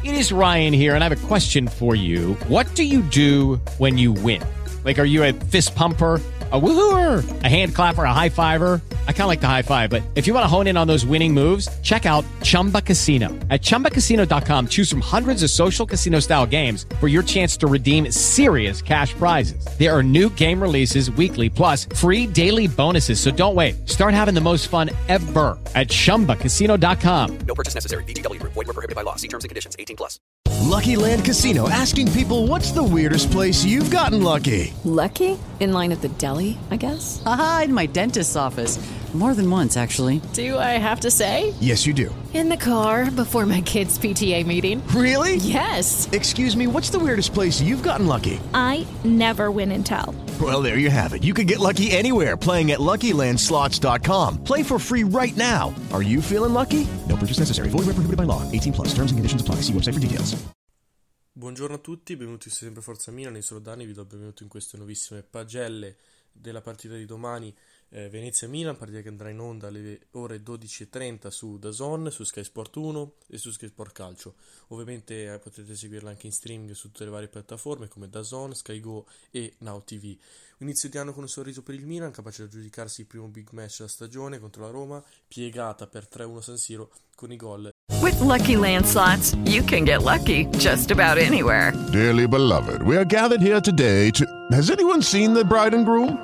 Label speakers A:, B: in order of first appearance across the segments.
A: It is Ryan here, and I have a question for you. What do you do when you win? Like, are you a fist pumper, a woohooer, a hand clapper, a high fiver? I kind of like the high five, but if you want to hone in on those winning moves, check out Chumba Casino. At ChumbaCasino.com, choose from hundreds of social casino-style games for your chance to redeem serious cash prizes. There are new game releases weekly, plus free daily bonuses. So don't wait. Start having the most fun ever at ChumbaCasino.com.
B: No purchase necessary. VGW Group. Void where prohibited by law. See terms and conditions. 18+.
C: Lucky Land Casino, asking people, what's the weirdest place you've gotten lucky?
D: Lucky? In line at the deli, I guess?
E: Aha, in my dentist's office. More than once, actually.
D: Do I have to say?
C: Yes, you do.
F: In the car before my kids' PTA meeting.
C: Really?
F: Yes.
C: Excuse me, what's the weirdest place you've gotten lucky?
G: I never win and tell.
C: Well, there you have it. You can get lucky anywhere, playing at LuckyLandSlots.com. Play for free right now. Are you feeling lucky? No purchase necessary. Void where prohibited by law. 18+. Terms and conditions apply. See website for details.
H: Buongiorno a tutti, benvenuti su Sempre Forza Milan, io sono Dani, vi do il benvenuto in queste nuovissime pagelle della partita di domani, Venezia-Milan, partita che andrà in onda alle ore 12:30 su DAZN, su Sky Sport 1 e su Sky Sport Calcio. Ovviamente potete seguirla anche in streaming su tutte le varie piattaforme come DAZN, Sky Go e Now TV. Inizio di anno con un sorriso per il Milan, capace di aggiudicarsi il primo big match della stagione contro la Roma, piegata per 3-1 San Siro con i gol.
I: With Lucky Land Slots, you can get lucky just about anywhere.
J: Dearly beloved, we are gathered here today to... Has anyone seen the bride and groom?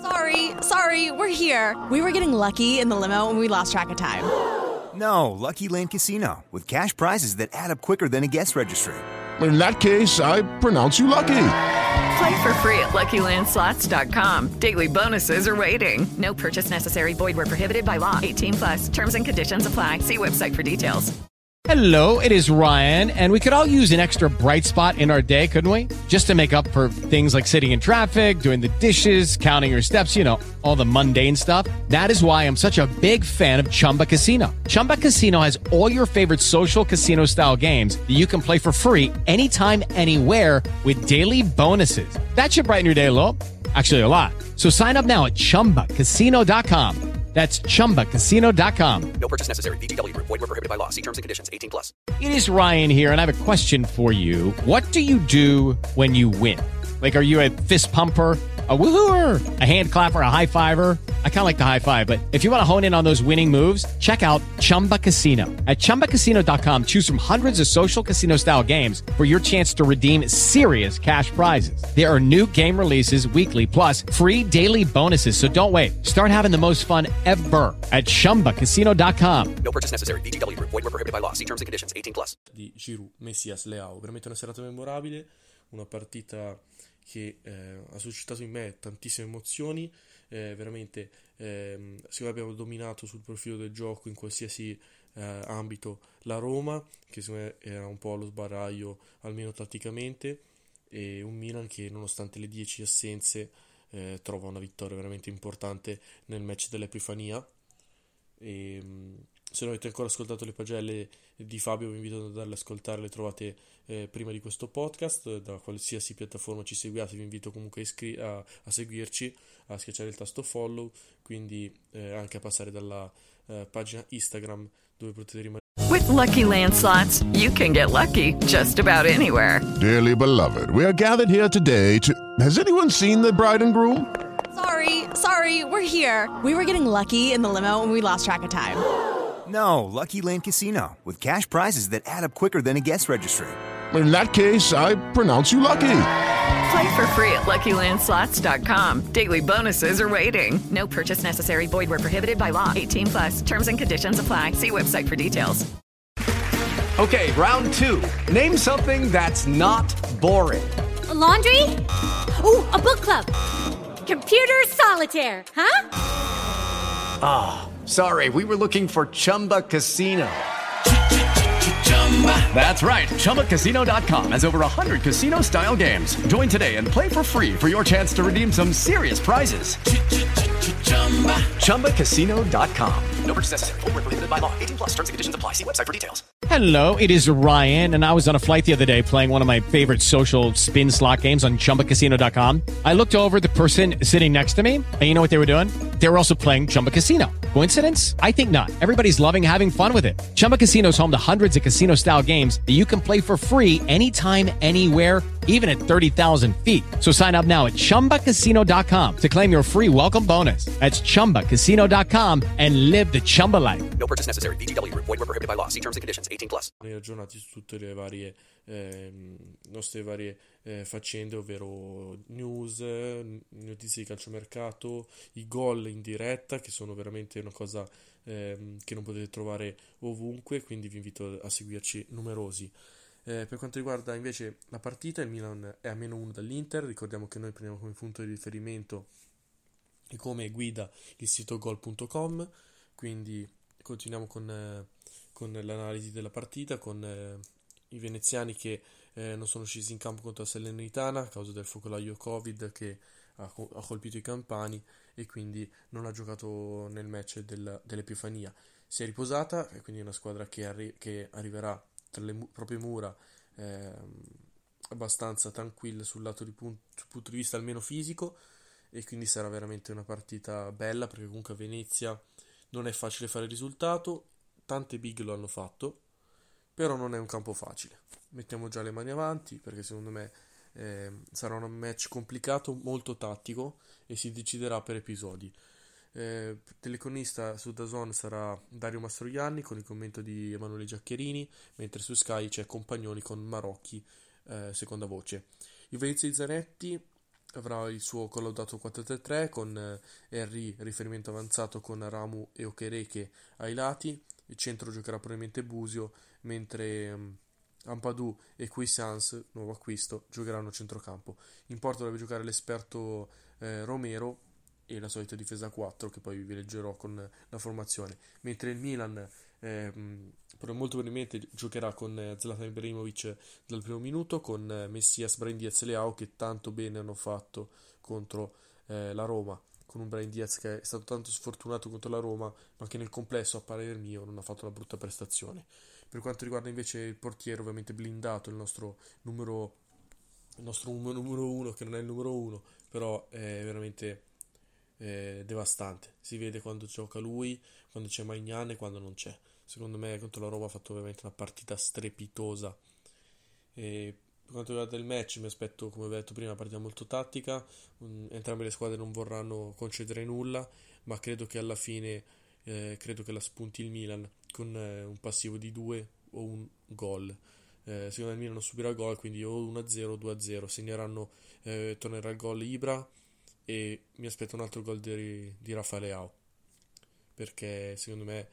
K: Sorry, we're here. We were getting lucky in the limo and we lost track of time.
L: No, Lucky Land Casino, with cash prizes that add up quicker than a guest registry.
J: In that case, I pronounce you lucky.
I: Play for free at LuckyLandSlots.com. Daily bonuses are waiting. No purchase necessary. Void where prohibited by law. 18+. Terms and conditions apply. See website for details.
A: Hello, it is Ryan, and we could all use an extra bright spot in our day, couldn't we? Just to make up for things like sitting in traffic, doing the dishes, counting your steps, you know, all the mundane stuff. That is why I'm such a big fan of Chumba Casino. Chumba Casino has all your favorite social casino-style games that you can play for free anytime, anywhere with daily bonuses. That should brighten your day a little. Actually, a lot. So sign up now at ChumbaCasino.com. That's ChumbaCasino.com.
B: No purchase necessary. VGW Group. Void where prohibited by law. See terms and conditions. 18+.
A: It is Ryan here, and I have a question for you. What do you do when you win? Like, are you a fist pumper, a woohooer, a hand clapper, a high fiver? I kind of like the high five, but if you want to hone in on those winning moves, check out Chumba Casino. At ChumbaCasino.com, choose from hundreds of social casino-style games for your chance to redeem serious cash prizes. There are new game releases weekly, plus free daily bonuses. So don't wait. Start having the most fun ever at ChumbaCasino.com.
B: No purchase necessary. VGW Group. Void where prohibited by law. See terms and conditions. 18+.
H: Di Giroud, Messias, Leao, veramente una serata memorabile, una partita che ha suscitato in me tantissime emozioni, veramente secondo me abbiamo dominato sul profilo del gioco in qualsiasi ambito la Roma, che secondo me era un po' allo sbaraglio almeno tatticamente, e un Milan che nonostante le 10 assenze trova una vittoria veramente importante nel match dell'Epifania. E se non avete ancora ascoltato le pagelle di Fabio vi invito ad andarle ad ascoltare, le trovate prima di questo podcast da qualsiasi piattaforma ci seguiate. Vi invito comunque a seguirci, a schiacciare il tasto follow, quindi anche a passare dalla pagina Instagram dove potete rimanere.
I: With Lucky Land Slots, you can get lucky just about anywhere.
J: Dearly beloved, we are gathered here today to... Has anyone seen the bride and groom?
K: Sorry, we're here. We were getting lucky in the limo and we lost track of time.
L: No, Lucky Land Casino, with cash prizes that add up quicker than a guest registry.
J: In that case, I pronounce you lucky.
I: Play for free at LuckyLandSlots.com. Daily bonuses are waiting. No purchase necessary. Void where prohibited by law. 18+. Terms and conditions apply. See website for details.
M: Okay, round two. Name something that's not boring.
N: A laundry? Ooh, a book club. Computer solitaire, huh?
M: Ah, sorry, we were looking for Chumba Casino. That's right, ChumbaCasino.com has over 100 casino-style games. Join today and play for free for your chance to redeem some serious prizes. ChumbaCasino.com.
B: No purchase necessary. Void where prohibited by law. 18 plus terms and conditions apply. See website for details.
A: Hello, it is Ryan, and I was on a flight the other day playing one of my favorite social spin slot games on ChumbaCasino.com. I looked over at the person sitting next to me, and you know what they were doing? They were also playing Chumba Casino. Coincidence? I think not. Everybody's loving having fun with it. Chumba Casino is home to hundreds of casino-style games that you can play for free anytime, anywhere, even at 30,000 feet. So sign up now at ChumbaCasino.com to claim your free welcome bonus. That's ChumbaCasino.com and live the Chumba life.
B: No purchase necessary. VGW. Void where prohibited by law. See terms and conditions. 18 plus.
H: Aggiornati su tutte le varie nostre varie faccende, ovvero news, notizie di calciomercato, i gol in diretta, che sono veramente una cosa che non potete trovare ovunque, quindi vi invito a seguirci numerosi. Per quanto riguarda invece la partita, il Milan è a -1 dall'Inter. Ricordiamo che noi prendiamo come punto di riferimento e come guida il sito gol.com, quindi continuiamo con l'analisi della partita, con i veneziani che non sono scesi in campo contro la Salernitana a causa del focolaio Covid che ha colpito i campani e quindi non ha giocato nel match dell'Epifania. Si è riposata, e quindi è una squadra che arriverà tra le proprie mura abbastanza tranquilla sul punto di vista almeno fisico, e quindi sarà veramente una partita bella, perché comunque a Venezia non è facile fare il risultato, tante big lo hanno fatto, però non è un campo facile. Mettiamo già le mani avanti, perché secondo me sarà un match complicato, molto tattico, e si deciderà per episodi. Telecronista su DAZN sarà Dario Mastroianni con il commento di Emanuele Giaccherini, mentre su Sky c'è Compagnoni con Marocchi seconda voce. Il Venezia di Zanetti avrà il suo collaudato 4-3-3 con Henry riferimento avanzato con Ramu e Okereke ai lati. Il centro giocherà probabilmente Busio, mentre Ampadu e Cuisance, nuovo acquisto, giocheranno a centrocampo. In porta deve giocare l'esperto Romero e la solita difesa 4, che poi vi leggerò con la formazione, mentre il Milan molto probabilmente giocherà con Zlatan Ibrahimovic dal primo minuto, con Messias, Brahim Diaz e Leao, che tanto bene hanno fatto contro la Roma, con un Brahim Diaz che è stato tanto sfortunato contro la Roma, ma che nel complesso, a parere mio, non ha fatto una brutta prestazione. Per quanto riguarda invece il portiere, ovviamente blindato, il nostro numero uno, che non è il numero uno, però è veramente devastante. Si vede quando gioca lui, quando c'è Maignan e quando non c'è. Secondo me contro la Roma ha fatto ovviamente una partita strepitosa. E per quanto riguarda il match, mi aspetto, come ho detto prima, una partita molto tattica. Entrambe le squadre non vorranno concedere nulla, ma credo che alla fine credo che la spunti il Milan con un passivo di 2 o un gol. Secondo me il Milan non subirà gol, quindi o 1-0 o 2-0. Segneranno, tornerà il gol Ibra, e mi aspetto un altro gol di Rafael Leao, perché secondo me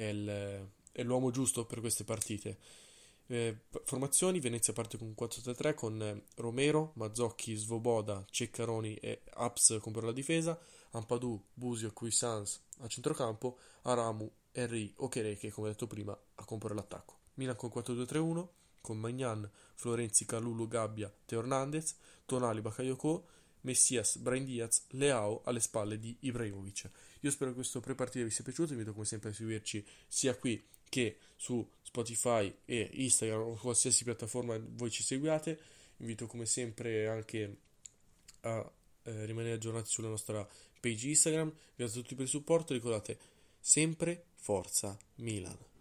H: è l'uomo giusto per queste partite. Formazioni: Venezia parte con 4-3-3 con Romero, Mazzocchi, Svoboda, Ceccaroni e Aps per la difesa, Ampadu, Busio, Cuisance a centrocampo, Aramu, Henry, Okereke, come detto prima, a comporre l'attacco. Milan con 4-2-3-1 con Maignan, Florenzi, Kalulu, Gabbia, Teo Hernandez, Tonali, Bakayoko, Messias, Brahim Diaz, Leao alle spalle di Ibrahimovic. Io spero che questo pre-partita vi sia piaciuto. Vi invito come sempre a seguirci sia qui che su Spotify e Instagram o qualsiasi piattaforma voi ci seguiate. Vi invito come sempre anche a rimanere aggiornati sulla nostra page Instagram. Grazie a tutti per il supporto. Ricordate sempre Forza Milan.